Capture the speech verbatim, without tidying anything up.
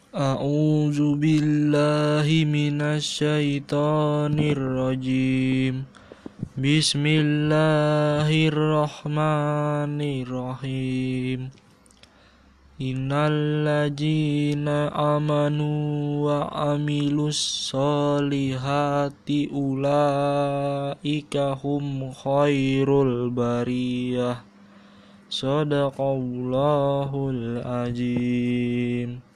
A'udzu billahi minasyaitonir rajim. Bismillahirrahmanirrahim. Innal ladzina amanu wa amilus solihati ulaika hum khairul bariyah. Shadaqallahul azim.